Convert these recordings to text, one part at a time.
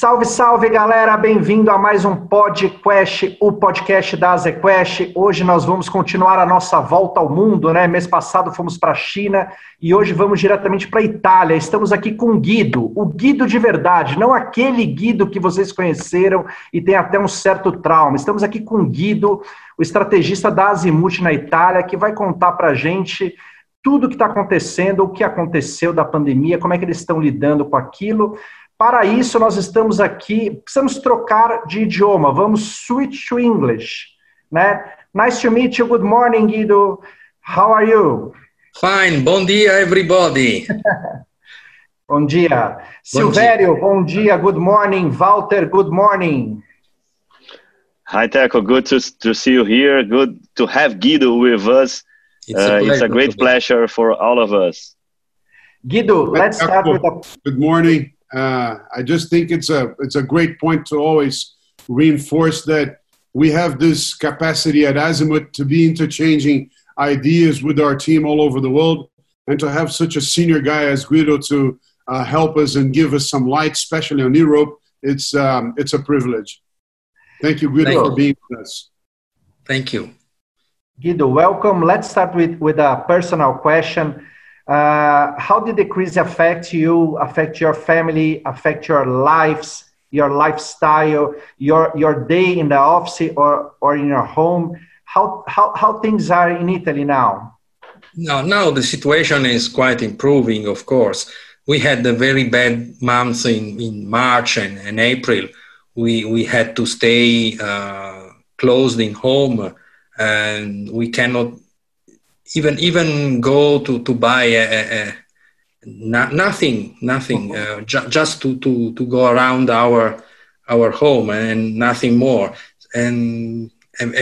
Salve, salve, galera! Bem-vindo a mais um podcast, o podcast da AZQuest. Hoje nós vamos continuar a nossa volta ao mundo, né? Mês passado fomos para a China e hoje vamos diretamente para a Itália. Estamos aqui com o Guido de verdade, não aquele Guido que vocês conheceram e tem até um certo trauma. Estamos aqui com o Guido, o estrategista da Azimut na Itália, que vai contar para a gente tudo o que está acontecendo, o que aconteceu da pandemia, como é que eles estão lidando com aquilo. Para isso, nós estamos aqui, precisamos trocar de idioma, vamos switch to English, né? Nice to meet you, good morning, Guido. How are you? Fine, bom dia, everybody. Bom dia. Silvério, bom dia, good morning. Walter, good morning. Hi, Teco, good to see you here. Good to have Guido with us. It's a great pleasure for all of us. Guido, let's start with a... Good morning. I just think it's a great point to always reinforce that we have this capacity at Azimut to be interchanging ideas with our team all over the world, and to have such a senior guy as Guido to help us and give us some light, especially on Europe. It's a privilege. Thank you, Guido, for being with us. Thank you. Guido, welcome. Let's start with a personal question. How did the crisis affect you, affect your family, affect your lives, your lifestyle, your day in the office or in your home? How things are in Italy now? Now the situation is quite improving, of course. We had a very bad months in March and April. We had to stay closed in home, and we cannot even go to buy nothing, just to go around our home and nothing more. And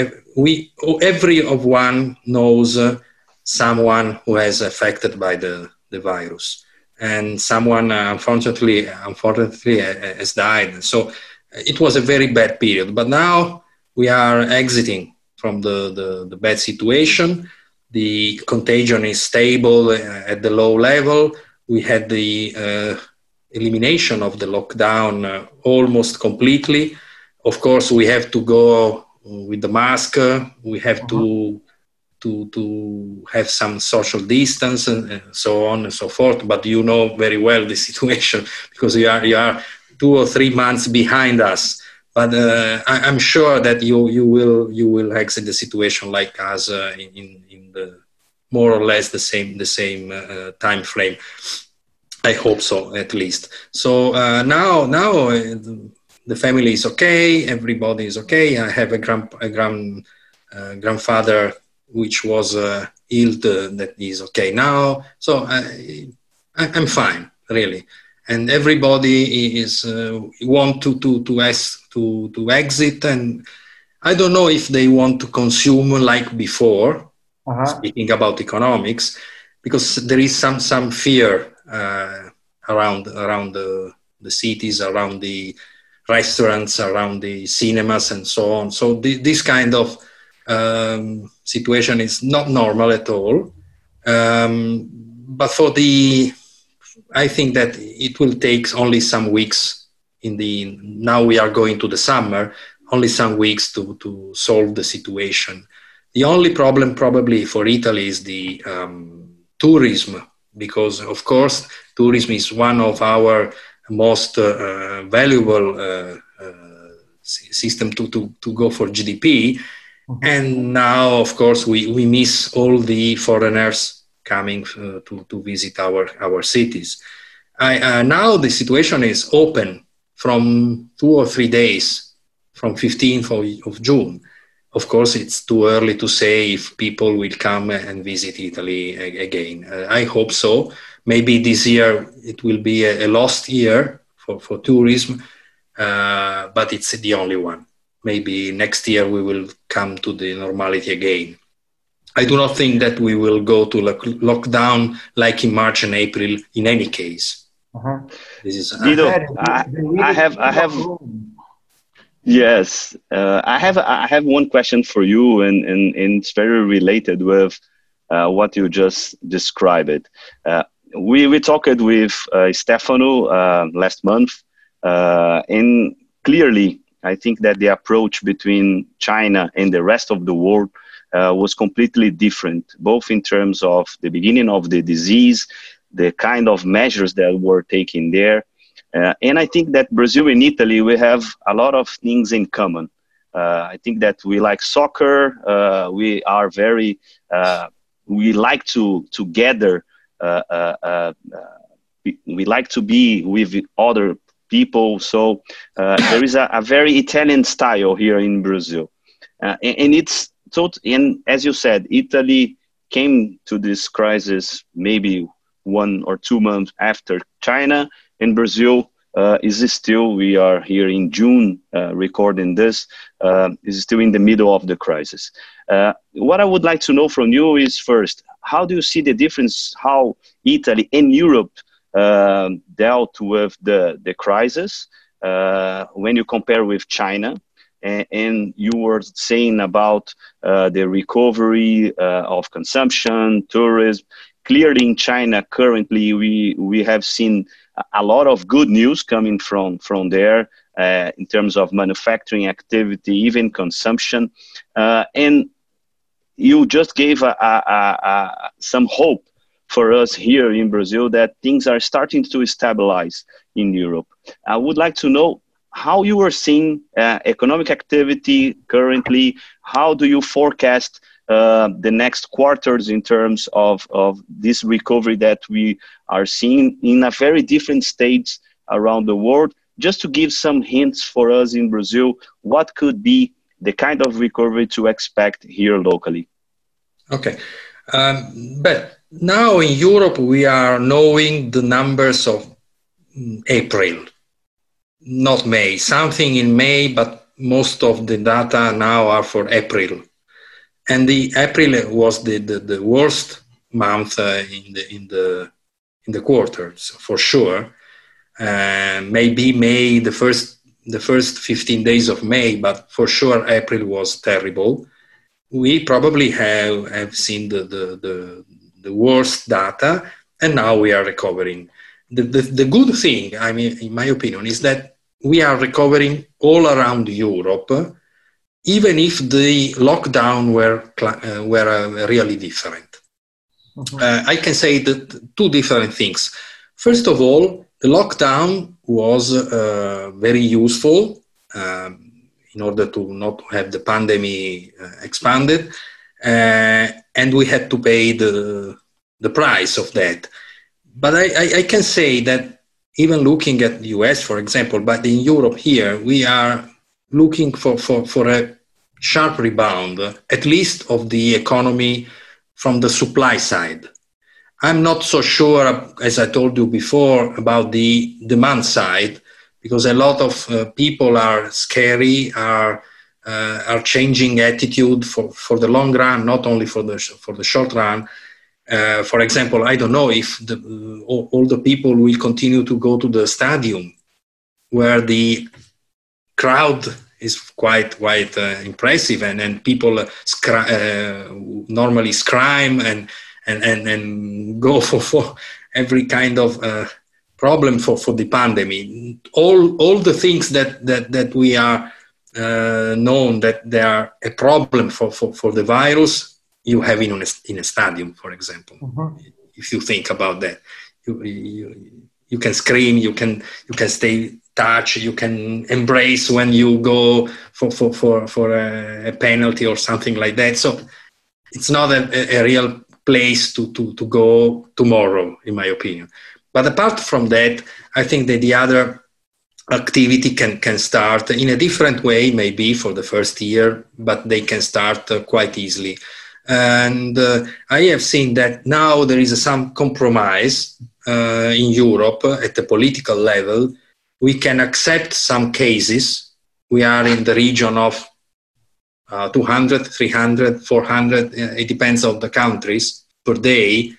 everyone knows someone who has affected by the virus, and someone unfortunately has died. So it was a very bad period. But now we are exiting from the bad situation. The contagion is stable at the low level. We had the elimination of the lockdown almost completely. Of course, we have to go with the mask. We have to have some social distance and so on and so forth. But you know very well the situation because you are 2 or 3 months behind us. But I'm sure that you will exit the situation like us in the more or less the same time frame. I hope so, at least. So now the family is okay. Everybody is okay. I have a grandfather which was ill that is okay now. So I'm fine, really. And everybody is want to exit, and I don't know if they want to consume like before. Speaking about economics, because there is some fear around the cities, around the restaurants, around the cinemas, and so on. So this kind of situation is not normal at all. But I think that it will take only some weeks. Now we are going to the summer, only some weeks to solve the situation. The only problem probably for Italy is the tourism, because of course tourism is one of our most valuable system to go for GDP. And now, of course, we miss all the foreigners coming to visit our cities. Now the situation is open from 2 or 3 days, from 15th of June. Of course, it's too early to say if people will come and visit Italy again. I hope so. Maybe this year it will be a lost year for tourism, but it's the only one. Maybe next year we will come to the normality again. I do not think that we will go to lockdown like in March and April in any case. This is Guido, I have yes, I have one question for you, and it's very related with what you just described. We talked with Stefano last month, And clearly, I think that the approach between China and the rest of the world was completely different, both in terms of the beginning of the disease, the kind of measures that were taken there. And I think that Brazil and Italy, we have a lot of things in common. I think that we like soccer. We are very, we like to gather. We like to be with other people. So there is a very Italian style here in Brazil. And it's and as you said, Italy came to this crisis maybe 1 or 2 months after China, and Brazil is still, we are here in June recording this, is still in the middle of the crisis. What I would like to know from you is first, how do you see the difference, how Italy and Europe dealt with the crisis when you compare with China? And you were saying about the recovery of consumption, tourism. Clearly in China currently we have seen a lot of good news coming from there in terms of manufacturing activity, even consumption. And you just gave some hope for us here in Brazil that things are starting to stabilize in Europe. I would like to know how you are seeing economic activity currently. How do you forecast the next quarters in terms of this recovery that we are seeing in a very different states around the world? Just to give some hints for us in Brazil, what could be the kind of recovery to expect here locally? Okay. But now in Europe, we are knowing the numbers of April, not May. Something in May, but most of the data now are for April. And the April was the worst month in the quarters, for sure. Maybe May, the first 15 days of May, but for sure April was terrible. We probably have seen the worst data, and now we are recovering. The good thing, I mean, in my opinion, is that we are recovering all around Europe, even if the lockdown were really different. I can say that 2 different things. First of all, the lockdown was very useful in order to not have the pandemic expanded, and we had to pay the price of that. But I can say that even looking at the US, for example, but in Europe here, we are looking for a sharp rebound, at least of the economy from the supply side. I'm not so sure, as I told you before, about the demand side, because a lot of people are scary, are changing attitude for the long run, not only for the short run. For example, I don't know if all the people will continue to go to the stadium, where the crowd is quite impressive, and people normally scream and go for every kind of problem for the pandemic. All the things that we are known that they are a problem for the virus, you have in a stadium, for example. If you think about that, you can scream, you can stay touch, you can embrace when you go for a penalty or something like that. So it's not a real place to go tomorrow, in my opinion. But apart from that, I think that the other activity can start in a different way, maybe for the first year, but they can start quite easily. And I have seen that now there is some compromise in Europe at the political level. We can accept some cases. We are in the region of 200, 300, 400, it depends on the countries, per day.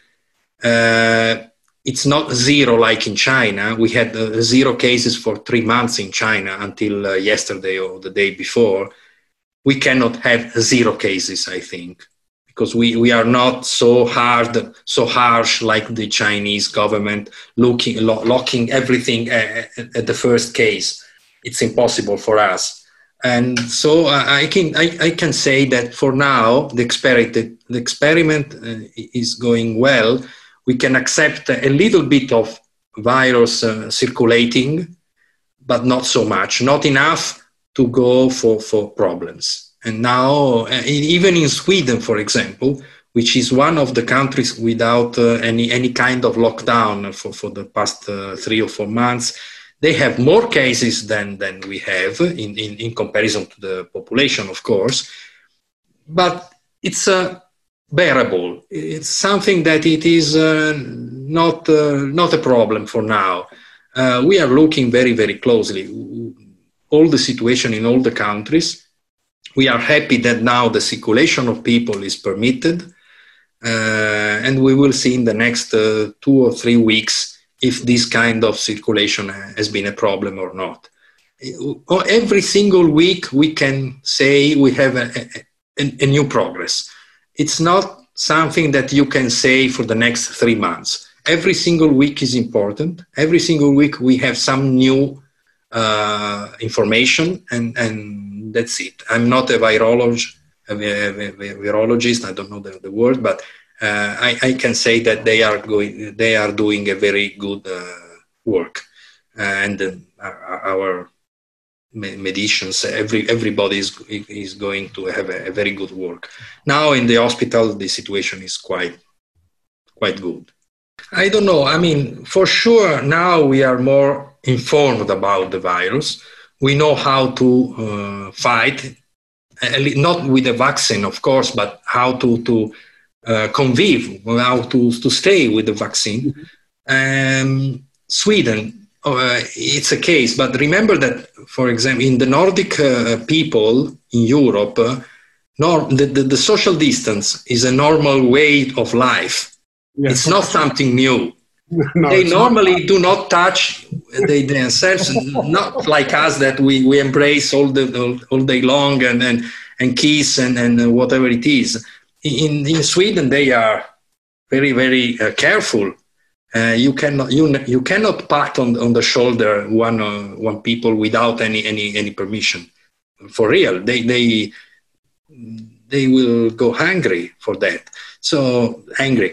It's not zero like in China. We had 0 cases for 3 months in China until yesterday or the day before. We cannot have 0 cases, I think, because we are not so harsh like the Chinese government, locking everything at the first case. It's impossible for us. And so I can say that for now, the experiment is going well. We can accept a little bit of virus circulating, but not so much, not enough to go for problems. And now, even in Sweden, for example, which is one of the countries without any kind of lockdown for the past 3 or 4 months, they have more cases than we have in comparison to the population, of course. But it's bearable. It's something that it is not a problem for now. We are looking very, very closely all the situation in all the countries. We are happy that now the circulation of people is permitted, and we will see in the next 2 or 3 weeks if this kind of circulation has been a problem or not. Every single week we can say we have a new progress. It's not something that you can say for the next 3 months. Every single week is important. Every single week we have some new information, and that's it. I'm not a virologist. I don't know the word, but I can say that they are doing a very good work, and our medicines, everybody is going to have a very good work. Now in the hospital, the situation is quite good. I don't know. I mean, for sure, now we are more informed about the virus. We know how to fight, not with a vaccine, of course, but how to convive, how to stay with the vaccine. Sweden, it's a case, but remember that, for example, in the Nordic people in Europe, the social distance is a normal way of life. Yes. It's not something new. No, they normally do not touch themselves, not like us that we embrace all day long and kiss and whatever it is. In Sweden, they are very, very careful. You cannot pat on the shoulder one people without any permission. For real, they will go hungry for that. So angry.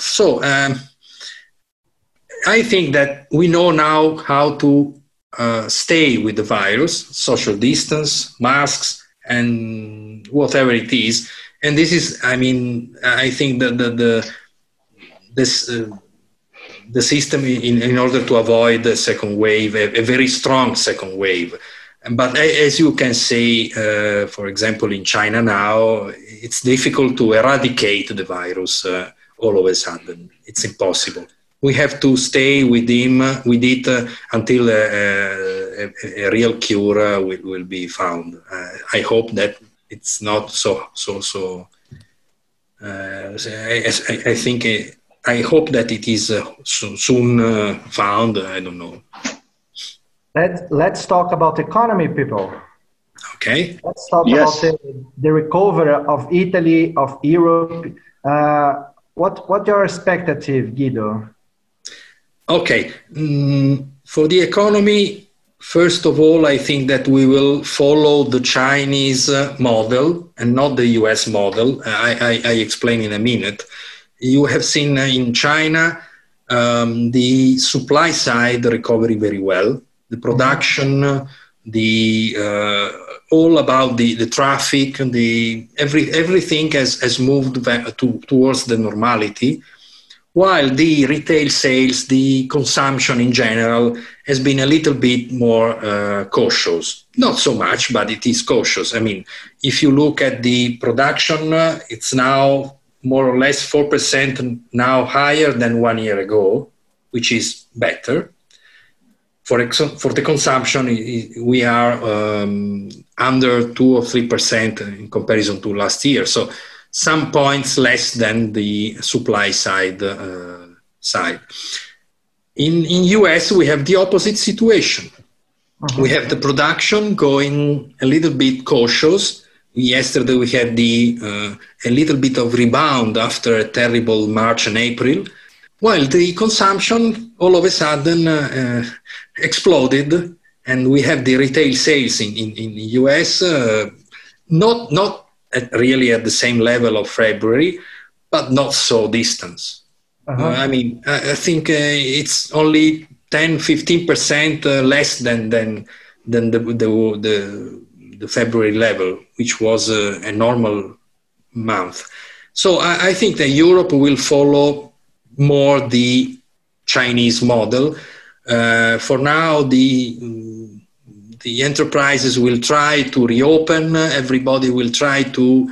I think that we know now how to stay with the virus, social distance, masks, and whatever it is. And this is, I mean, I think that the system in order to avoid the second wave, a very strong second wave. But as you can see, for example, in China now, it's difficult to eradicate the virus all of a sudden. It's impossible. We have to stay with it until a real cure will be found. I hope that it's not so. I think. I hope that it is soon found. I don't know. Let's talk about economy, people. Okay. Let's talk about the recovery of Italy, of Europe. What your expectative, Guido? Okay. For the economy, first of all, I think that we will follow the Chinese model and not the US model. I explain in a minute. You have seen in China the supply side recovery very well. The production, all about the traffic, everything has moved back towards the normality, while the retail sales, the consumption in general has been a little bit more cautious. Not so much, but it is cautious. I mean, if you look at the production, it's now more or less 4% now higher than 1 year ago, which is better. For the consumption, we are under 2 or 3% in comparison to last year. So some points less than the supply side. In US, we have the opposite situation. We have the production going a little bit cautious, Yesterday we had a little bit of rebound after a terrible March and April, while the consumption all of a sudden exploded, and we have the retail sales in US not really at the same level of February, but not so distant. I mean, I think it's only 10-15% less than the February level, which was a normal month. So I think that Europe will follow more the Chinese model. For now, the enterprises will try to reopen. Everybody will try to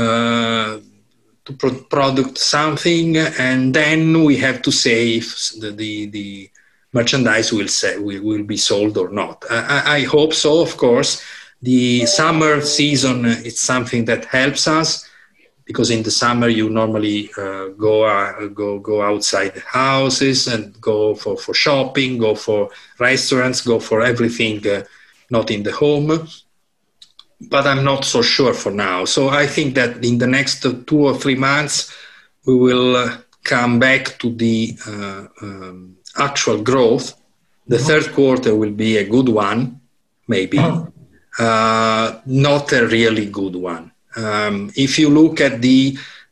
produce something, and then we have to say if the merchandise will be sold or not. I hope so, of course. The summer season is something that helps us, because in the summer you normally go outside the houses and go for shopping, go for restaurants, go for everything not in the home. But I'm not so sure for now. So I think that in the next 2 or 3 months we will come back to the actual growth. The third quarter will be a good one, maybe. Not a really good one. If you look at the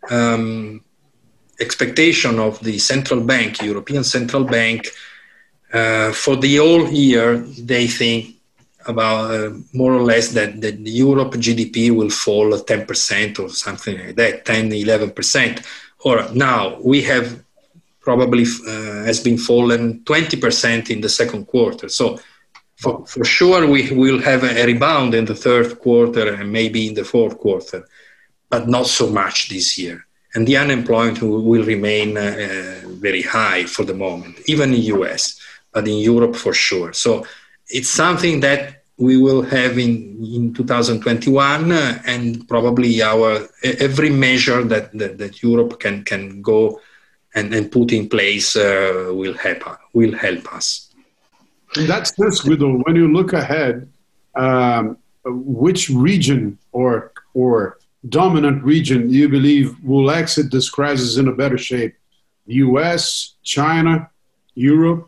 expectation of the central bank, European Central Bank, for the whole year, they think about more or less that the Europe GDP will fall 10% or something like that, 10-11%. Or now we have probably has been fallen 20% in the second quarter. So for sure we will have a rebound in the third quarter and maybe in the fourth quarter, but not so much this year. And the unemployment will remain very high for the moment, even in US, but in Europe for sure. So it's something that we will have in 2021, and probably every measure that Europe can go and put in place will help us. In that sense, Guido, when you look ahead, which region or dominant region you believe will exit this crisis in a better shape? US, China, Europe?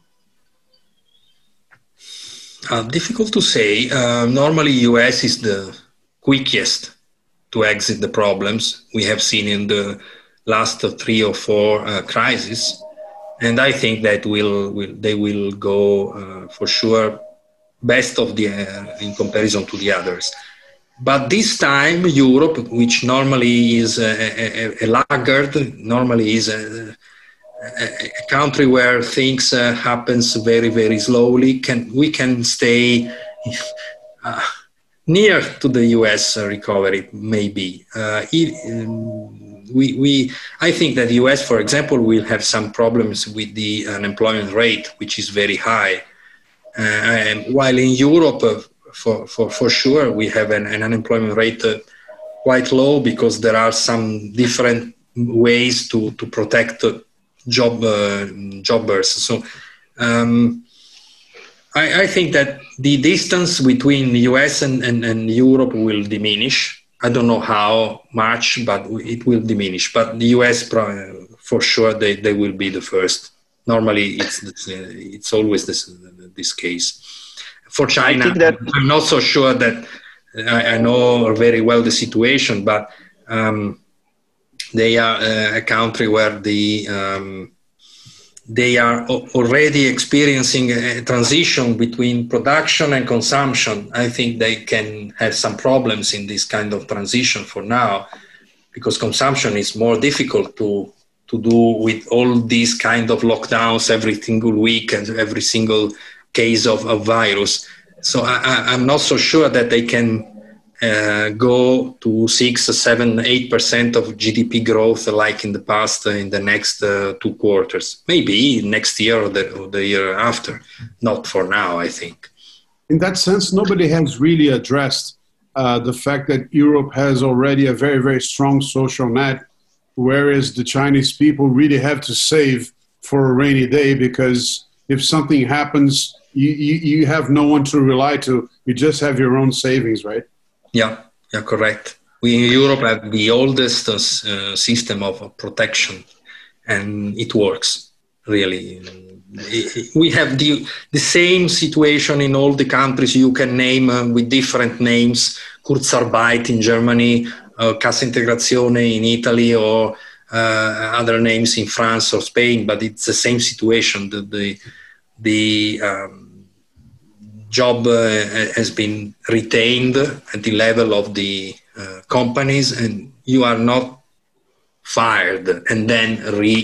Difficult to say. Normally, US is the quickest to exit the problems we have seen in the last 3 or 4 crises, and I think that they will go for sure best of in comparison to the others. But this time, Europe, which normally is a laggard, normally is a country where things happens very, very slowly, we can stay near to the US recovery, maybe. I think that the US, for example, will have some problems with the unemployment rate, which is very high. While in Europe, for sure, we have an unemployment rate quite low, because there are some different ways to protect jobbers. So I think that the distance between the US and Europe will diminish. I don't know how much, but it will diminish. But the US, for sure, they will be the first. Normally, it's always this case. For China, I'm not so sure that I know very well the situation, but they are a country where they are already experiencing a transition between production and consumption. I think they can have some problems in this kind of transition for now, because consumption is more difficult to do with all these kind of lockdowns every single week and every single case of virus. So I'm not so sure that they can go to 6, 7, 8% of GDP growth like in the past in the next 2 quarters. Maybe next year or the year after. Not for now, I think. In that sense, nobody has really addressed the fact that Europe has already a very, very strong social net, whereas the Chinese people really have to save for a rainy day, because if something happens, you have no one to rely to. You just have your own savings, right? Yeah, correct. We in Europe have the oldest system of protection, and it works really. We have the same situation in all the countries you can name with different names. Kurzarbeit in Germany, Cassa Integrazione in Italy, or other names in France or Spain, but it's the same situation. The job has been retained at the level of the companies, and you are not fired and then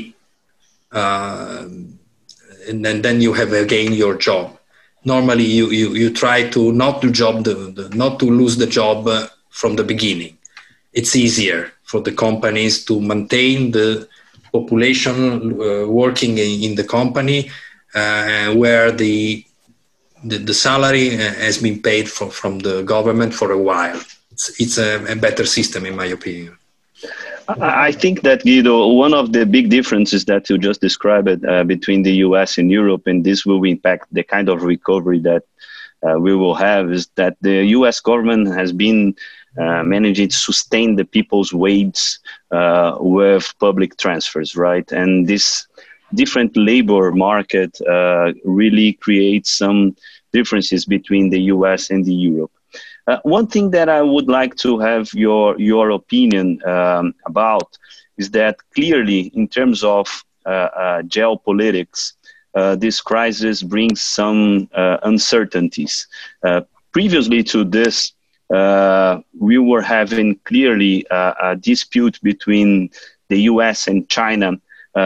and then you have again your job. Normally, you try to not to not to lose the job from the beginning. It's easier for the companies to maintain the population working in the company where the salary has been paid from the government for a while. It's a better system, in my opinion. I think that, Guido, one of the big differences that you just described between the US and Europe, and this will impact the kind of recovery that we will have, is that the US government has been managing to sustain the people's wage with public transfers, right? And this different labor market really creates some differences between the US and the Europe. One thing that I would like to have your opinion about is that clearly in terms of geopolitics, this crisis brings some uncertainties. Previously to this, we were having clearly a dispute between the US and China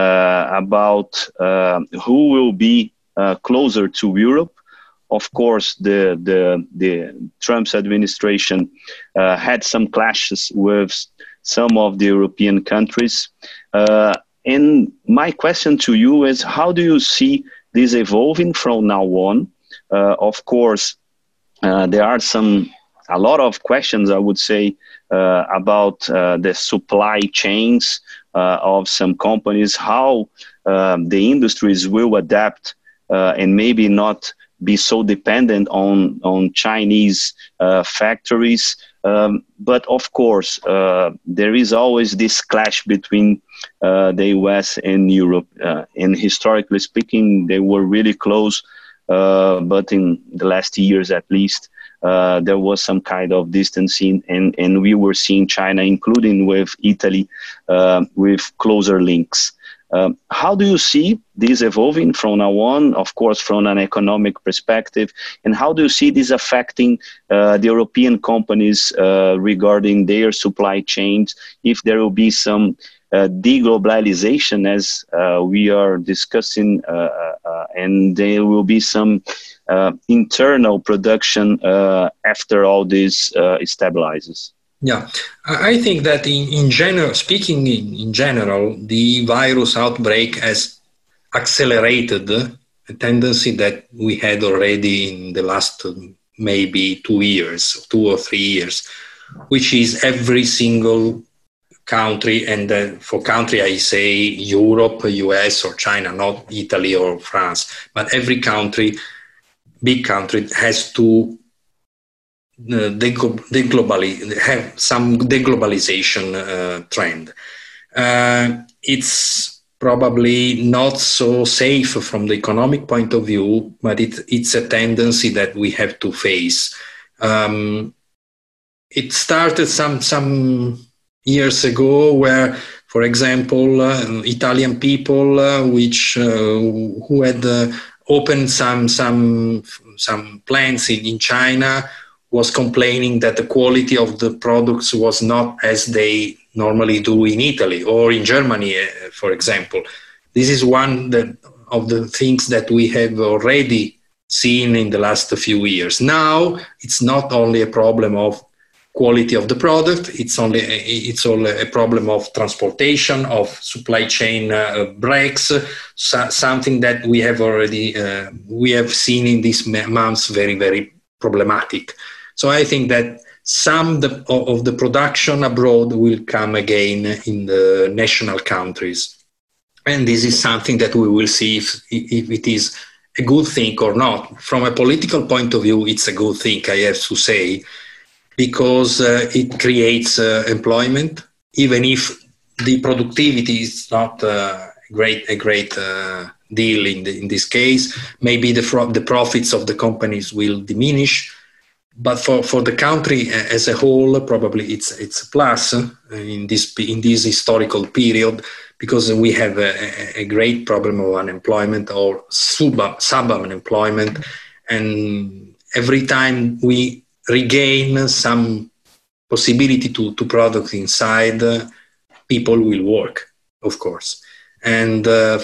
about who will be closer to Europe. Of course, the Trump's administration had some clashes with some of the European countries. And my question to you is, how do you see this evolving from now on? Of course, there are a lot of questions, I would say, about the supply chains of some companies, how the industries will adapt and maybe not be so dependent on Chinese factories. But of course, there is always this clash between the US and Europe. And historically speaking, they were really close. But in the last years, at least, there was some kind of distancing, and we were seeing China, including with Italy, with closer links. How do you see this evolving from now on, of course, from an economic perspective? And how do you see this affecting the European companies regarding their supply chains, if there will be some deglobalization as we are discussing, and there will be some internal production after all this stabilizes? Yeah, I think that in general, speaking in general, the virus outbreak has accelerated a tendency that we had already in the last maybe 2 or 3 years, which is every single country, and for country I say Europe, US or China, not Italy or France, but every country, big country, has to have some deglobalization trend. It's probably not so safe from the economic point of view, but it's a tendency that we have to face. It started some years ago where, for example, Italian people who had opened some plants in China was complaining that the quality of the products was not as they normally do in Italy or in Germany, for example. This is one of the things that we have already seen in the last few years. Now, it's not only a problem of quality of the product, it's all a problem of transportation, of supply chain breaks, something that we have already, we have seen in these months very, very problematic. So I think that some of the production abroad will come again in the national countries. And this is something that we will see if it is a good thing or not. From a political point of view, it's a good thing, I have to say. because it creates employment, even if the productivity is not a great deal in this case. Maybe the profits of the companies will diminish, but for the country as a whole, probably it's a plus in this historical period, because we have a great problem of unemployment or sub-unemployment, and every time we regain some possibility to produce inside, people will work, of course. And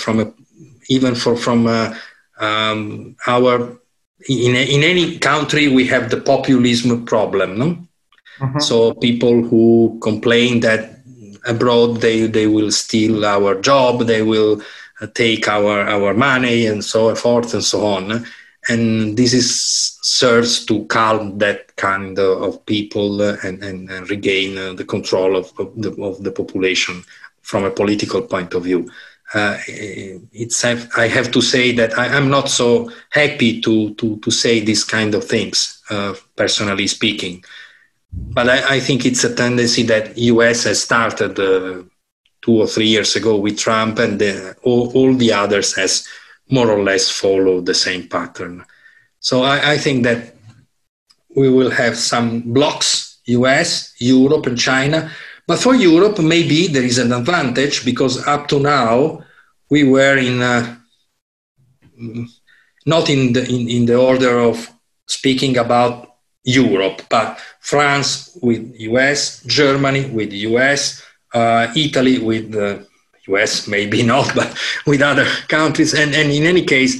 in any country, we have the populism problem, no? Mm-hmm. So people who complain that abroad they will steal our job, they will take our money, and so forth and so on. And this serves to calm that kind of people and regain the control of the population from a political point of view. I have to say that I'm not so happy to say these kind of things, personally speaking. But I think it's a tendency that US has started 2 or 3 years ago with Trump, and all the others has more or less followed the same pattern. So I think that we will have some blocks, US, Europe, and China. But for Europe, maybe there is an advantage, because up to now we were not in the order of speaking about Europe, but France with US, Germany with US, Italy with the US, maybe not, but with other countries. And in any case,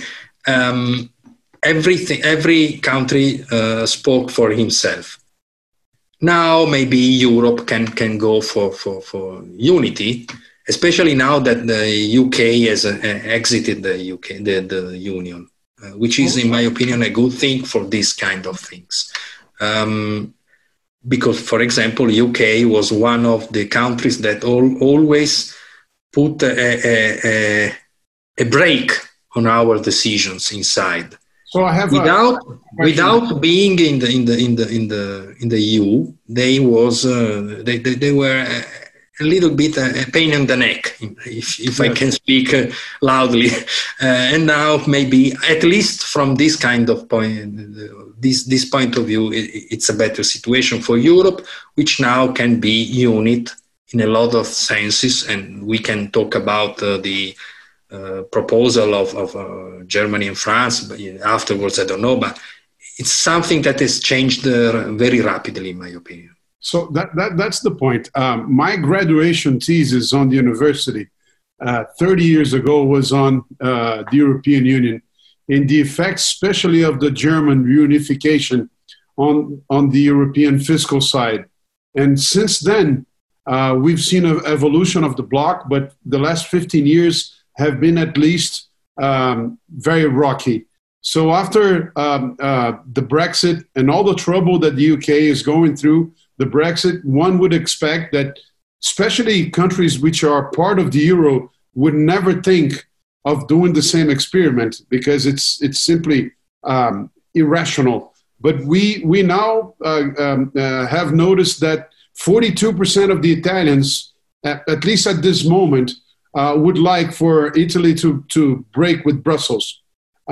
every country spoke for himself. Now maybe Europe can go for unity, especially now that the UK has exited the Union, which is, in my opinion, a good thing for these kind of things. Because, for example, UK was one of the countries that always put a break on our decisions inside. So I have without being in the EU, they were a little bit a pain in the neck, if I can speak loudly. And now maybe, at least from this kind of point, this point of view, it's a better situation for Europe, which now can be unit in a lot of senses. And we can talk about the proposal of Germany and France, but afterwards, I don't know. But it's something that has changed very rapidly, in my opinion. So that's the point. My graduation thesis on the university 30 years ago was on the European Union and the effects, especially of the German reunification on the European fiscal side. And since then, we've seen an evolution of the bloc, but the last 15 years have been at least very rocky. So after the Brexit and all the trouble that the UK is going through, the Brexit, one would expect that especially countries which are part of the euro would never think of doing the same experiment, because it's simply irrational. But we now have noticed that 42% of the Italians, at least at this moment, would like for Italy to break with Brussels.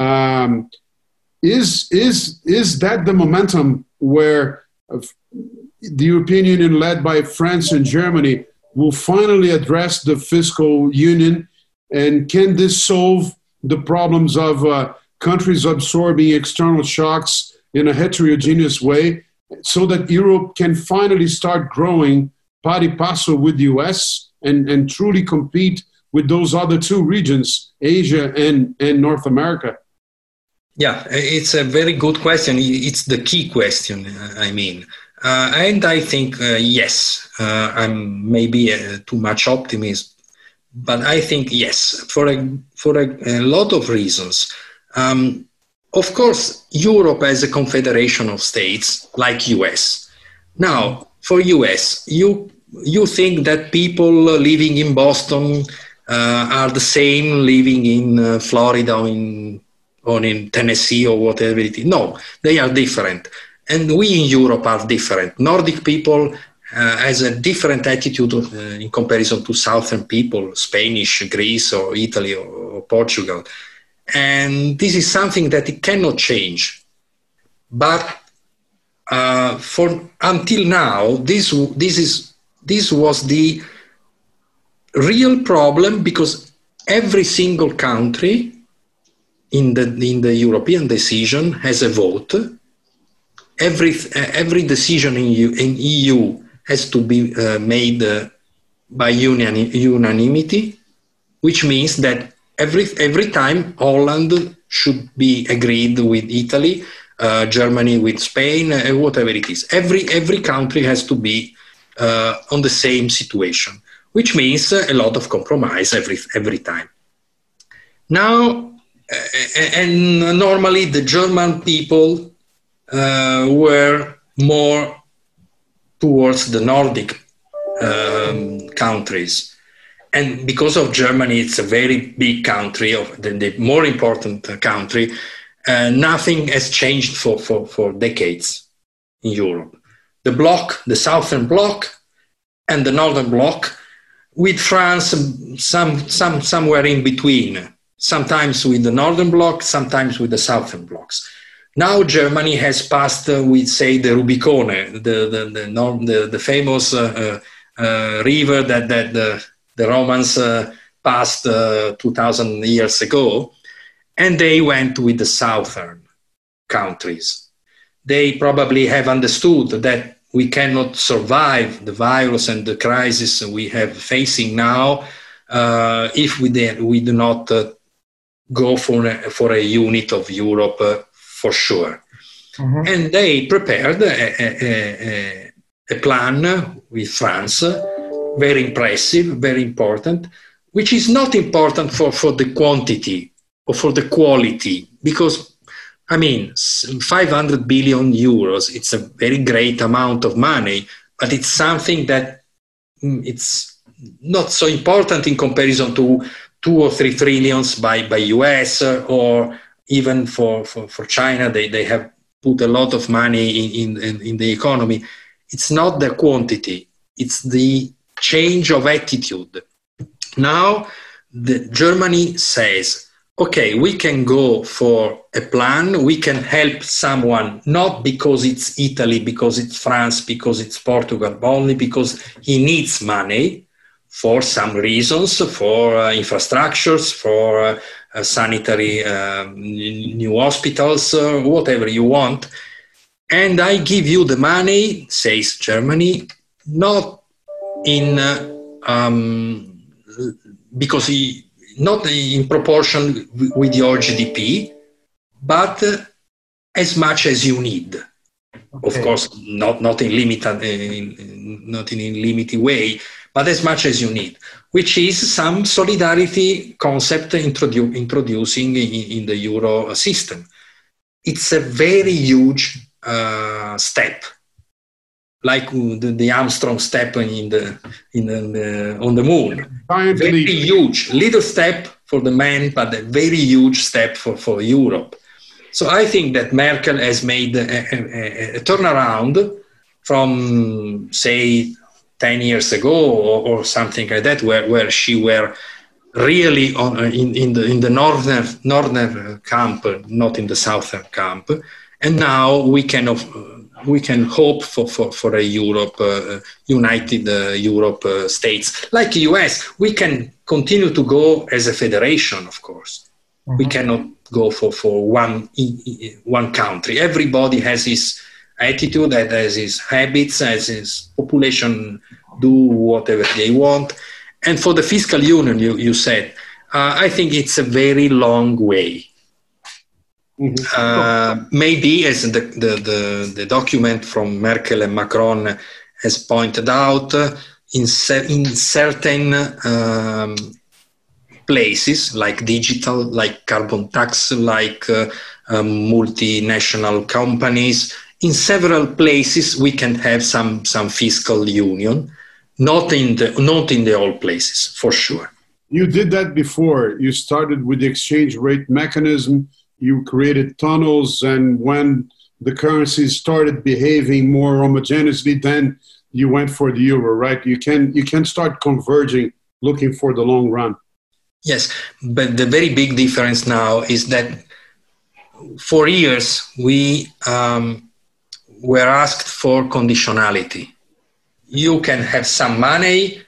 Is that the momentum where the European Union, led by France and Germany, will finally address the fiscal union? And can this solve the problems of countries absorbing external shocks in a heterogeneous way, so that Europe can finally start growing pari passu with the US and truly compete with those other two regions, Asia and North America? Yeah, it's a very good question. It's the key question, I mean. And I think, yes, I'm maybe too much optimist, but I think yes, for a lot of reasons. Of course, Europe as a confederation of states like US. Now, for US, you think that people living in Boston are the same living in Florida or in Tennessee or whatever it is. No, they are different. and we in Europe are different. Nordic people has a different attitude in comparison to Southern people, Spanish, Greece, or Italy, or Portugal. And this is something that it cannot change. But until now, this was the real problem, because every single country in the European decision has a vote. Every decision in EU has to be made by unanimity, which means that every time Holland should be agreed with Italy, Germany with Spain, whatever it is. Every country has to be on the same situation, which means a lot of compromise every time. Now, and normally the German people were more towards the Nordic countries. And because of Germany, it's a very big country, the more important country, nothing has changed for decades in Europe. The bloc, the Southern bloc and the Northern bloc, with France somewhere in between, sometimes with the Northern bloc, sometimes with the Southern blocs. Now Germany has passed with, say, the Rubicon, the famous river that the Romans passed 2,000 years ago, and they went with the southern countries. They probably have understood that we cannot survive the virus and the crisis we have facing now if we do not go for a unit of Europe for sure. Mm-hmm. And they prepared a plan with France, very impressive, very important, which is not important for the quantity or for the quality, because, I mean, 500 billion euros, it's a very great amount of money, but it's something that it's not so important in comparison to 2 or 3 trillions by US, or even for China. They have put a lot of money in the economy. It's not the quantity, it's the change of attitude. Now, Germany says, okay, we can go for a plan, we can help someone, not because it's Italy, because it's France, because it's Portugal, but only because he needs money for some reasons, for infrastructures, for sanitary new hospitals, whatever you want. And I give you the money, says Germany, not because not in proportion with your GDP, but as much as you need. Okay. Of course, not in limited way, but as much as you need, which is some solidarity concept introducing in the Euro system. It's a very huge step, like the Armstrong step on the moon. Very huge, little step for the man, but a very huge step for Europe. So I think that Merkel has made a turnaround from, say, 10 years ago or something like that, where she were really in the northern camp, not in the southern camp. And now we can hope for a Europe, united Europe states. Like the US, we can continue to go as a federation, of course. Mm-hmm. We cannot go for one country. Everybody has his attitude, has his habits, has his population do whatever they want. And for the fiscal union, you said, I think it's a very long way. Mm-hmm. Maybe, as the document from Merkel and Macron has pointed out, in certain places, like digital, like carbon tax, like multinational companies, in several places we can have some fiscal union, not in the all places, for sure. You did that before. You started with the exchange rate mechanism. You created tunnels, and when the currencies started behaving more homogeneously, then you went for the euro, right? You can start converging, looking for the long run. Yes, but the very big difference now is that for years we were asked for conditionality. You can have some money,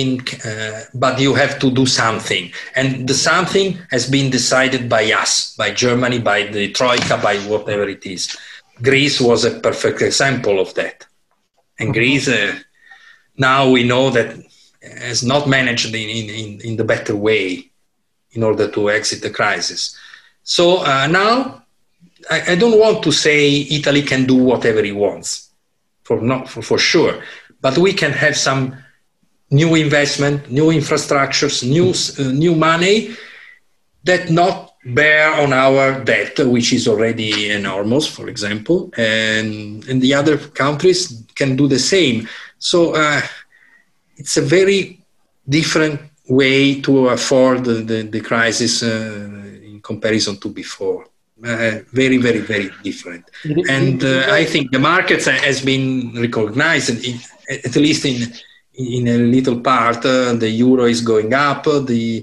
but you have to do something. And the something has been decided by us, by Germany, by the Troika, by whatever it is. Greece was a perfect example of that. And Greece, now we know that has not managed in the better way in order to exit the crisis. So now I don't want to say Italy can do whatever it wants, for sure. But we can have some new investment, new infrastructures, new money that not bear on our debt, which is already enormous, for example, and the other countries can do the same. So it's a very different way to afford the crisis in comparison to before. Very, very, very different. And I think the markets has been recognized, at least in a little part. The euro is going up. The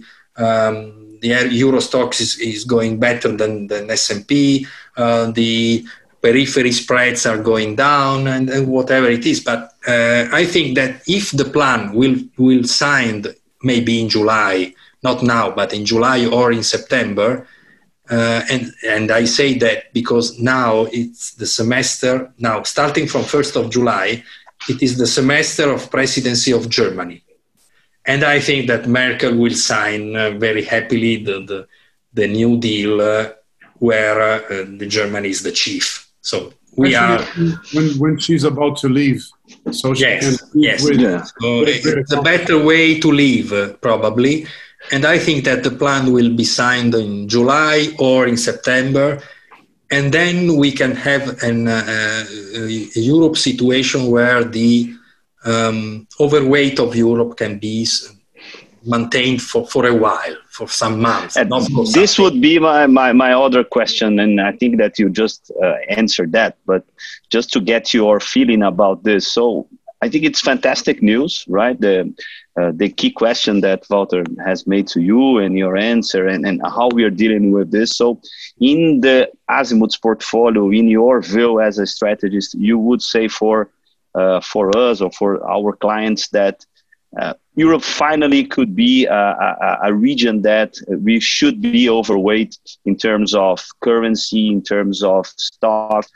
Euro Stoxx is going better than S&P. The periphery spreads are going down, and whatever it is. But I think that if the plan will signed maybe in July, not now, but in July or in September. And I say that because now it's the semester, now starting from 1st of July, it is the semester of presidency of Germany. And I think that Merkel will sign very happily the new deal where the Germany is the chief. So we are... When she's about to leave. So she yes. Yeah. So it's a better way to leave, probably. And I think that the plan will be signed in July or in September. And then we can have a Europe situation where the overweight of Europe can be maintained for a while, for some months. This would be my other question, and I think that you just answered that. But just to get your feeling about this, so I think it's fantastic news, right? The key question that Walter has made to you and your answer and how we are dealing with this. So in the Azimut's portfolio, in your view as a strategist, you would say for us or for our clients that Europe finally could be a region that we should be overweight in terms of currency, in terms of stock.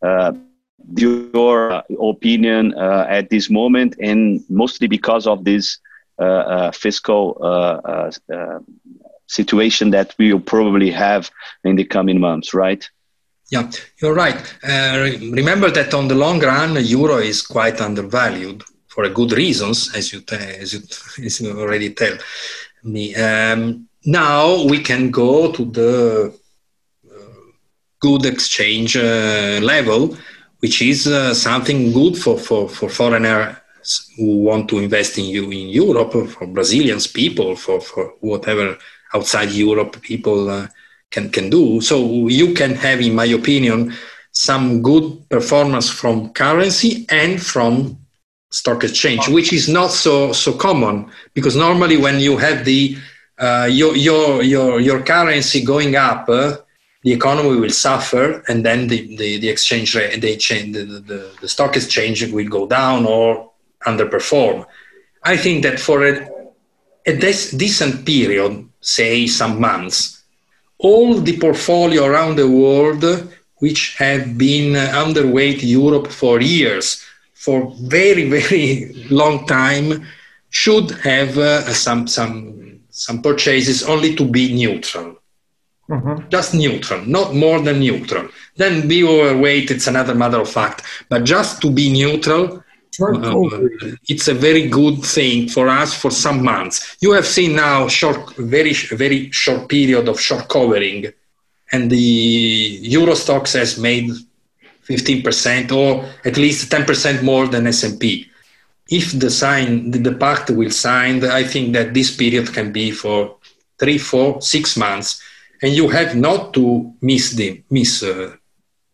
Your opinion at this moment, and mostly because of this fiscal situation that we will probably have in the coming months, right? Yeah, you're right. Remember that on the long run, euro is quite undervalued for a good reasons, as you already tell me. Now we can go to the good exchange level, which is something good for foreigners who want to invest in Europe, for Brazilians people, for whatever outside Europe people can do. So you can have, in my opinion, some good performance from currency and from stock exchange, which is not so common, because normally when you have the your currency going up, the economy will suffer, and then the exchange rate, the stock exchange will go down or underperform. I think that for a decent period, say some months, all the portfolio around the world which have been underweight Europe for years, for very, very long time, should have some purchases only to be neutral. Mm-hmm. Just neutral, not more than neutral. Then be overweight, it's another matter of fact. But just to be neutral, it's a very good thing for us for some months. You have seen now very, very short period of short covering, and the Euro Stoxx has made 15% or at least 10% more than S&P. If the pact will sign, I think that this period can be for 3, 4, 6 months. And you have not to miss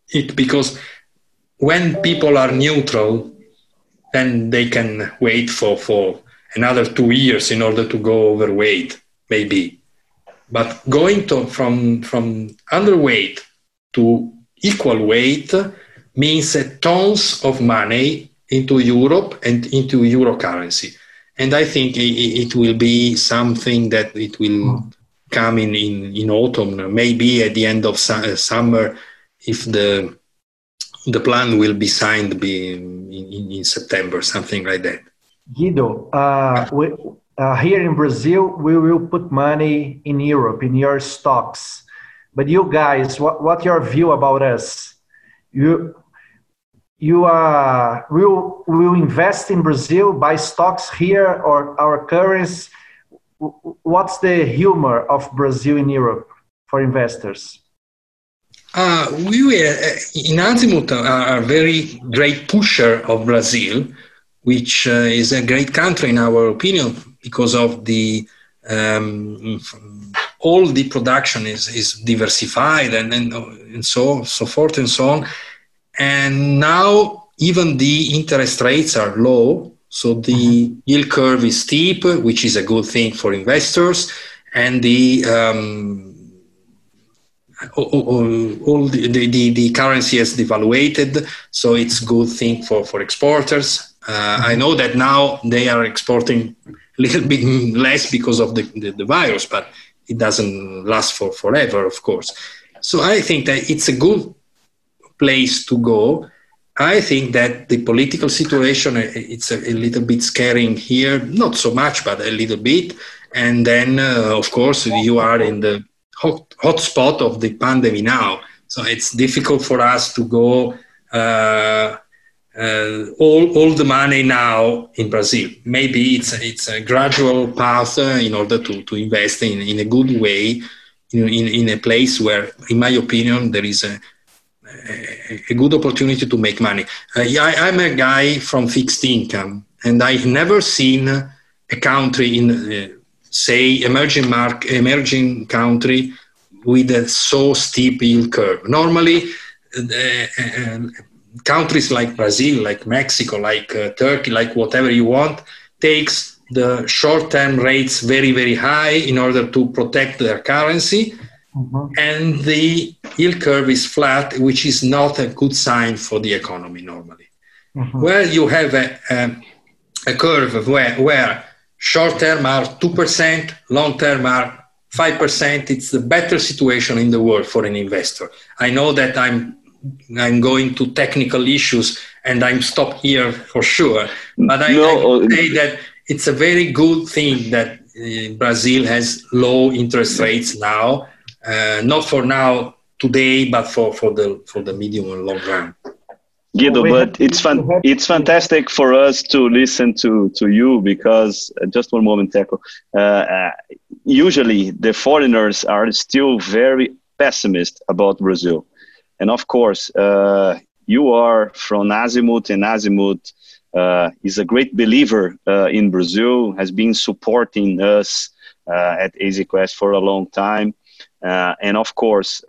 it because when people are neutral, then they can wait for another 2 years in order to go overweight, maybe. But going from underweight to equal weight means tons of money into Europe and into euro currency. And I think it will be something that it will come in autumn, maybe at the end of summer, if the plan will be signed in September, something like that. Guido, here in Brazil, we will put money in Europe, in your stocks. But you guys, what's your view about us? You will invest in Brazil, buy stocks here or our currency? What's the humor of Brazil in Europe for investors? We in Azimut are a very great pusher of Brazil, which is a great country in our opinion because of the all the production is diversified and so forth and so on. And now even the interest rates are low, so the yield curve is steep, which is a good thing for investors, and the all the currency has devaluated, so it's a good thing for exporters. I know that now they are exporting a little bit less because of the virus, but it doesn't last forever, of course. So I think that it's a good place to go. I think that the political situation, it's a little bit scaring here, not so much, but a little bit. And then, of course, you are in the hot spot of the pandemic now. So it's difficult for us to go all the money now in Brazil. Maybe it's a gradual path in order to invest in a good way in a place where, in my opinion, there is a good opportunity to make money. I'm a guy from fixed income, and I've never seen a country in, say, emerging country with a so steep yield curve. Normally, countries like Brazil, like Mexico, like Turkey, like whatever you want, takes the short-term rates very, very high in order to protect their currency. And the yield curve is flat, which is not a good sign for the economy normally. Where you have a curve where short-term are 2%, long-term are 5%, it's the better situation in the world for an investor. I know that I'm going to technical issues and I'm stopped here for sure, but I would say that it's a very good thing that Brazil has low interest rates now. Not for now, today, but for the medium and long run. Guido, but it's fantastic for us to listen to you because, just one moment, Teco. Usually the foreigners are still very pessimist about Brazil. And of course, you are from Azimut, and Azimut is a great believer in Brazil, has been supporting us at EasyQuest for a long time. And of course,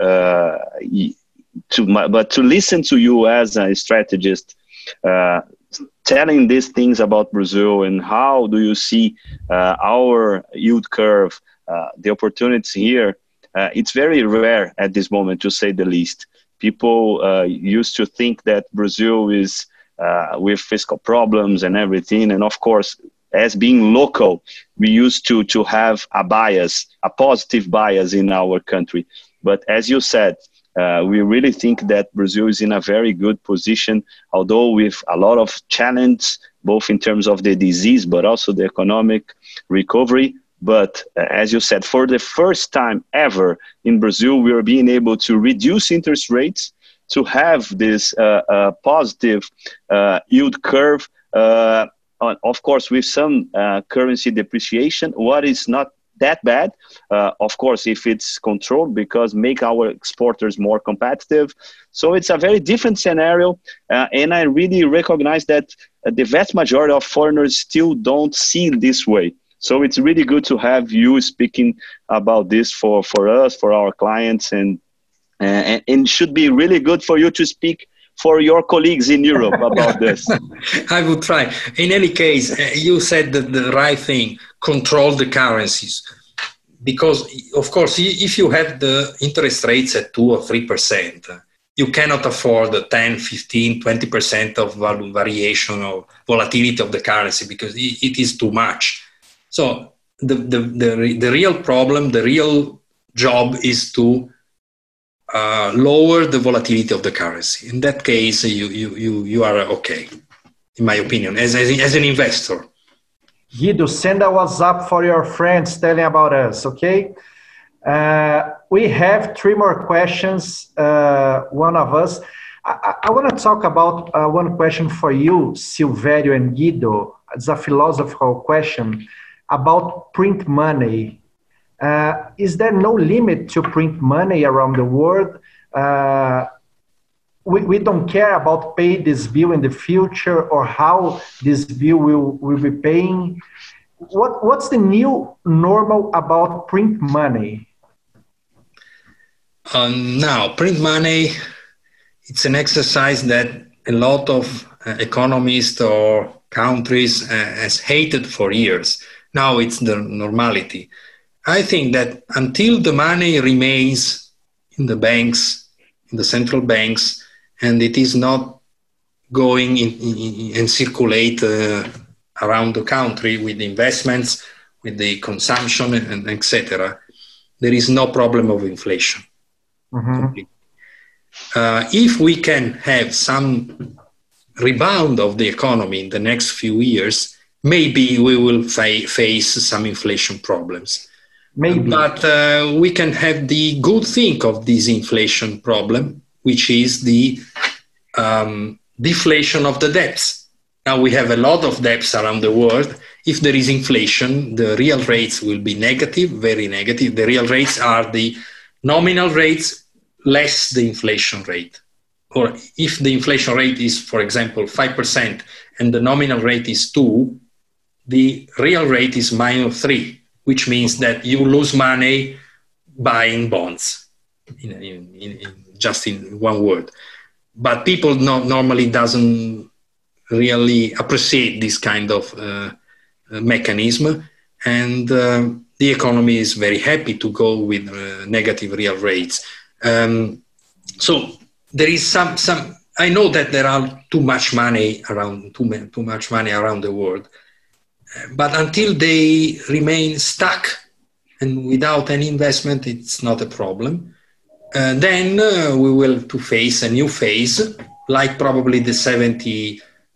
but to listen to you as a strategist, telling these things about Brazil and how do you see our yield curve, the opportunities here, it's very rare at this moment, to say the least. People used to think that Brazil is with fiscal problems and everything, and of course, as being local, we used to have a bias, a positive bias in our country. But as you said, we really think that Brazil is in a very good position, although with a lot of challenge, both in terms of the disease, but also the economic recovery. But as you said, for the first time ever in Brazil, we are being able to reduce interest rates, to have this positive yield curve, of course, with some currency depreciation, what is not that bad, of course, if it's controlled, because make our exporters more competitive. So it's a very different scenario, and I really recognize that the vast majority of foreigners still don't see it this way. So it's really good to have you speaking about this for us, for our clients, and and should be really good for you to speak for your colleagues in Europe about this. I would try. In any case, you said the right thing, control the currencies. Because, of course, if you have the interest rates at 2 or 3%, you cannot afford the 10, 15, 20% of variation or volatility of the currency because it is too much. So the real problem, the real job is to lower the volatility of the currency. In that case, you are okay, in my opinion, as an investor. Guido, send a WhatsApp for your friends telling about us, okay? We have 3 more questions, one of us. I want to talk about one question for you, Silvério and Guido. It's a philosophical question about print money. Is there no limit to print money around the world? We don't care about pay this bill in the future or how this bill will be paying. What's the new normal about print money? Now, print money, it's an exercise that a lot of economists or countries has hated for years. Now it's the normality. I think that until the money remains in the banks, in the central banks, and it is not going in and circulate around the country with the investments, with the consumption, and etc., there is no problem of inflation. Mm-hmm. If we can have some rebound of the economy in the next few years, maybe we will face some inflation problems. Maybe. But we can have the good thing of this inflation problem, which is the deflation of the debts. Now we have a lot of debts around the world. If there is inflation, the real rates will be negative, very negative. The real rates are the nominal rates less the inflation rate. Or if the inflation rate is, for example, 5% and the nominal rate is 2, the real rate is -3. Which means that you lose money buying bonds, just in one word. But people normally doesn't really appreciate this kind of mechanism, and the economy is very happy to go with negative real rates. So there is some. I know that there are too much money around the world. But until they remain stuck and without any investment, it's not a problem. Then we will to face a new phase, like probably the 70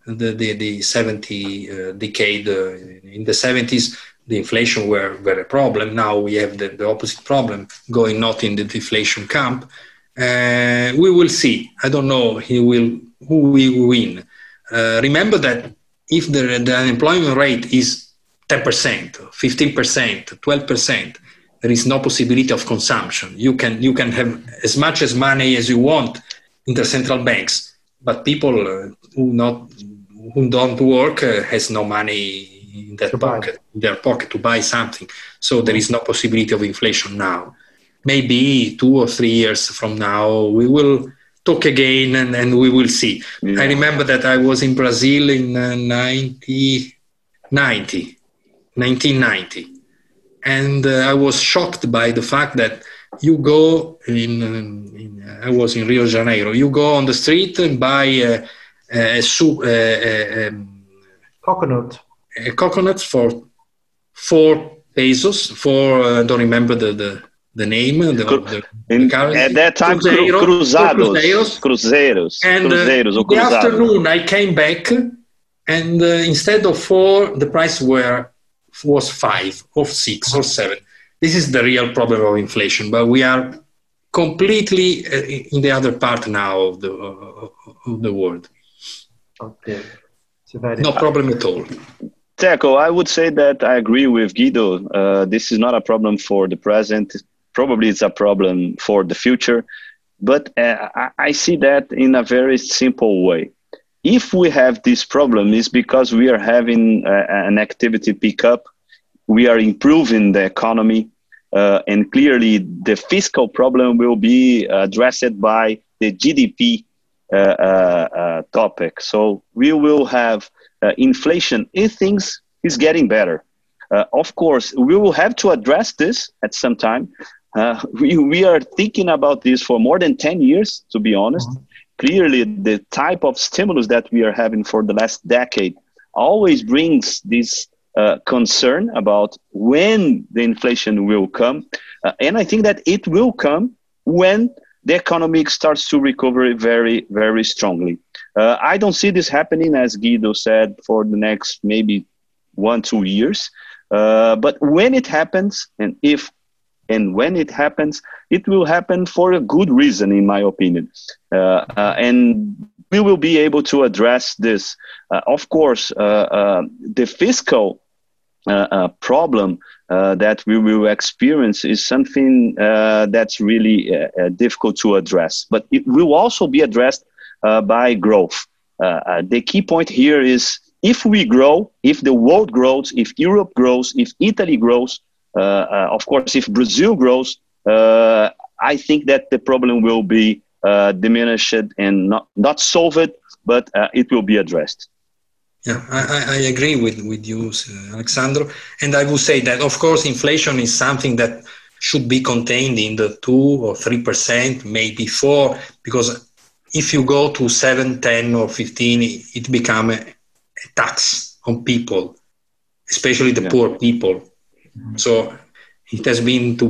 decade. In the 70s, the inflation were a problem. Now we have the opposite problem, going not in the deflation camp. We will see. I don't know who will win. Remember that if the unemployment rate is 10%, 15%, 12%, there is no possibility of consumption. You can have as much as money as you want in the central banks, but people who don't work has no money in their pocket to buy something. So there is no possibility of inflation now. Maybe 2 or 3 years from now we will talk again and we will see. Yeah. I remember that I was in Brazil in 1990, and I was shocked by the fact that you go I was in Rio de Janeiro, you go on the street and buy coconut for 4 pesos, I don't remember the name, the currency. At that time, Cruzeiros. And in the afternoon, I came back, and instead of 4, the price was 5 or 6 or 7. This is the real problem of inflation, but we are completely in the other part now of the world. Okay. No problem at all. Teco, I would say that I agree with Guido. This is not a problem for the present. Probably it's a problem for the future, but I see that in a very simple way. If we have this problem, it's because we are having an activity pickup. We are improving the economy. and clearly the fiscal problem will be addressed by the GDP topic. So we will have inflation if things is getting better. Of course, we will have to address this at some time. We are thinking about this for more than 10 years, to be honest. Clearly, the type of stimulus that we are having for the last decade always brings this concern about when the inflation will come. And I think that it will come when the economy starts to recover very, very strongly. I don't see this happening, as Guido said, for the next maybe 1-2 years. But when it happens, and when it happens, it will happen for a good reason, in my opinion. And we will be able to address this. Of course, the fiscal problem that we will experience is something that's really difficult to address. But it will also be addressed by growth. The key point here is if we grow, if the world grows, if Europe grows, if Italy grows, of course, if Brazil grows, I think that the problem will be diminished and not solved, but it will be addressed. Yeah, I agree with you, Alexandro. And I would say that, of course, inflation is something that should be contained in the 2 or 3%, maybe 4%, because if you go to 7, 10 or 15, it becomes a tax on people, especially the poor people. So it has to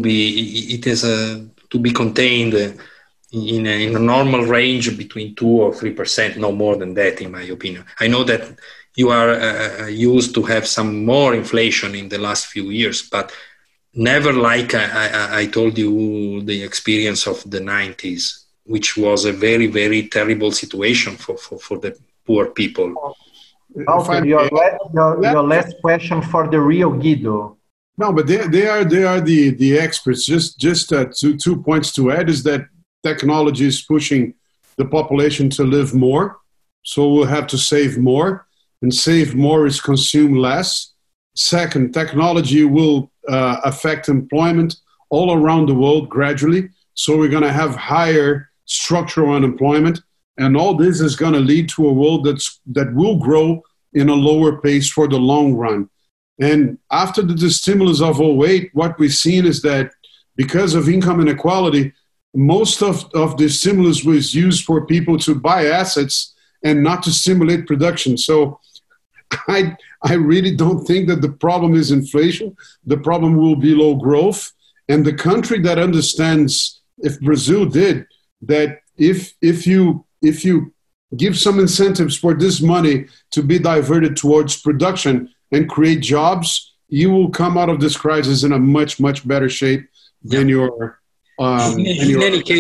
be contained in a normal range between 2 or 3%, no more than that, in my opinion. I know that you are used to have some more inflation in the last few years, but never like I told you the experience of the 90s, which was a very, very terrible situation for the poor people. Okay, your last question for the real Guido. No, but they are the experts. Just 2 points to add is that technology is pushing the population to live more, so we'll have to save more, and save more is consume less. Second, technology will affect employment all around the world gradually, so we're going to have higher structural unemployment, and all this is going to lead to a world that will grow in a lower pace for the long run. And after the stimulus of 2008, what we've seen is that because of income inequality, most of the stimulus was used for people to buy assets and not to stimulate production. So I really don't think that the problem is inflation. The problem will be low growth. And the country that understands, if Brazil did, that if you give some incentives for this money to be diverted towards production and create jobs, you will come out of this crisis in a much, much better shape than your in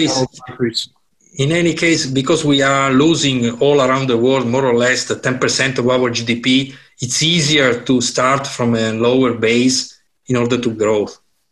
any case, because we are losing all around the world more or less the 10% of our GDP, it's easier to start from a lower base in order to grow.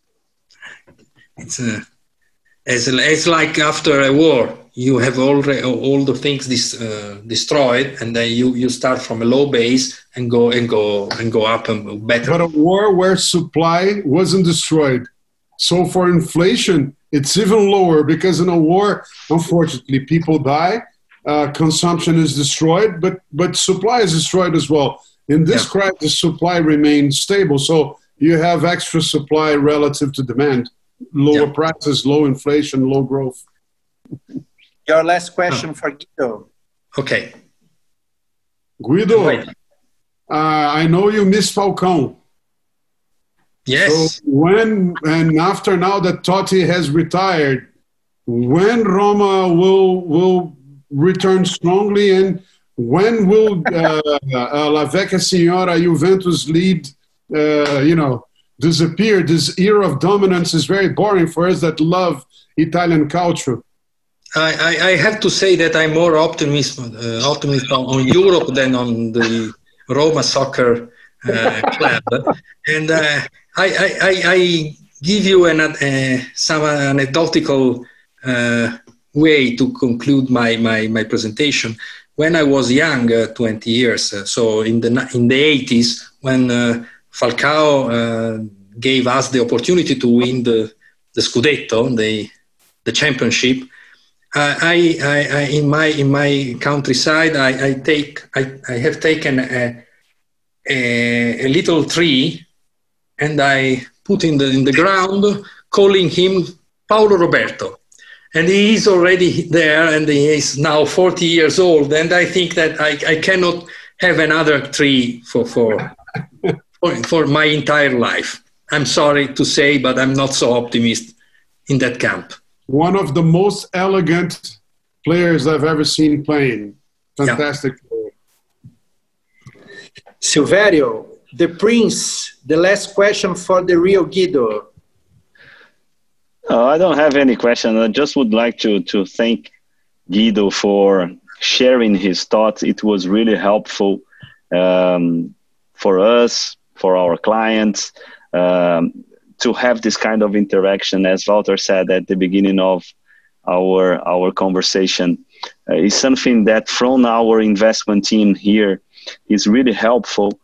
It's like after a war, you have all the things destroyed, and then you start from a low base and go up and better. But a war where supply wasn't destroyed. So for inflation, it's even lower because in a war, unfortunately, people die, consumption is destroyed, but supply is destroyed as well. In this crisis, supply remains stable. So you have extra supply relative to demand, lower prices, low inflation, low growth. Your last question for Guido. Okay. Guido, I know you miss Falcão. Yes. So and after now that Totti has retired, when Roma will return strongly, and when will La Vecchia Signora Juventus lead, disappear? This era of dominance is very boring for us that love Italian culture. I have to say that I'm more optimist on Europe than on the Roma soccer club, and I give you some anecdotal way to conclude my presentation. When I was young, 20 years, so in the 80s, when Falcao gave us the opportunity to win the Scudetto, the championship. In my countryside, I have taken a little tree, and I put in the ground, calling him Paolo Roberto. And he is already there, and he is now 40 years old. And I think that I cannot have another tree for my entire life. I'm sorry to say, but I'm not so optimistic in that camp. One of the most elegant players I've ever seen playing. Fantastic. Yeah. Silvério, the Prince, the last question for the real Guido. Oh, I don't have any question. I just would like to thank Guido for sharing his thoughts. It was really helpful for us, for our clients, to have this kind of interaction. As Walter said at the beginning of our conversation, is something that from our investment team here is really helpful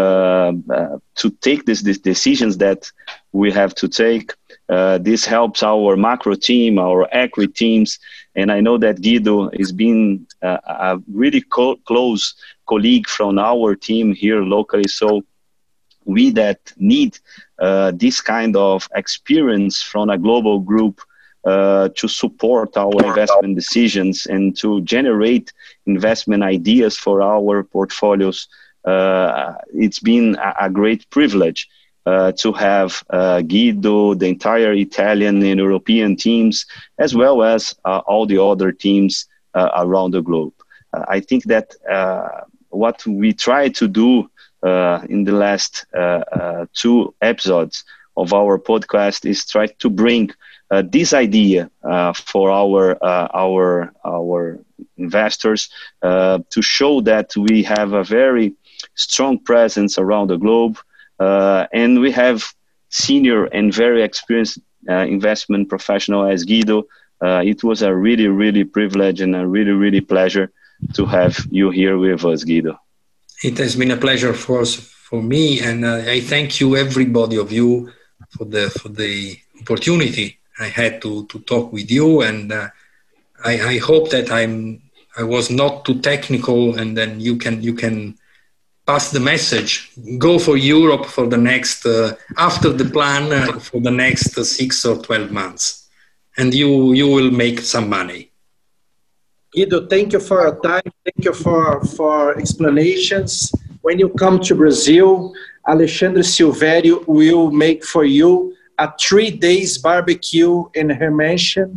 to take these decisions that we have to take. This helps our macro team, our equity teams, and I know that Guido has been a really close colleague from our team here locally. So we that need this kind of experience from a global group to support our investment decisions and to generate investment ideas for our portfolios. It's been a great privilege to have Guido, the entire Italian and European teams, as well as all the other teams around the globe. I think that what we try to do in the last 2 episodes of our podcast is try to bring this idea for our investors to show that we have a very strong presence around the globe, and we have senior and very experienced investment professional as Guido. It was a really privilege and a really pleasure to have you here with us, Guido. It has been a pleasure for me, and I thank you, everybody of you, for the opportunity I had to talk with you, and I hope that I was not too technical, and then you can pass the message. Go for Europe for the next after the plan for the next 6 or 12 months, and you will make some money. Guido, thank you for your time. Thank you for explanations. When you come to Brazil, Alexandre Silvério will make for you a 3 days barbecue in her mansion.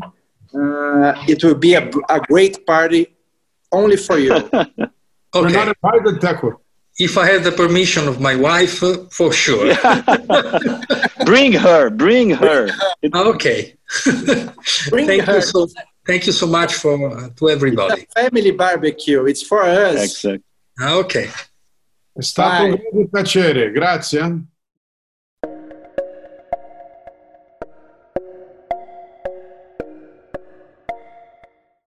It will be a great party only for you. Okay. We're not invited, Teco. If I have the permission of my wife, for sure. Bring her. Okay. Thank you so much to everybody. It's a family barbecue. It's for us. Exactly. Okay. È stato un grande piacere. Grazie.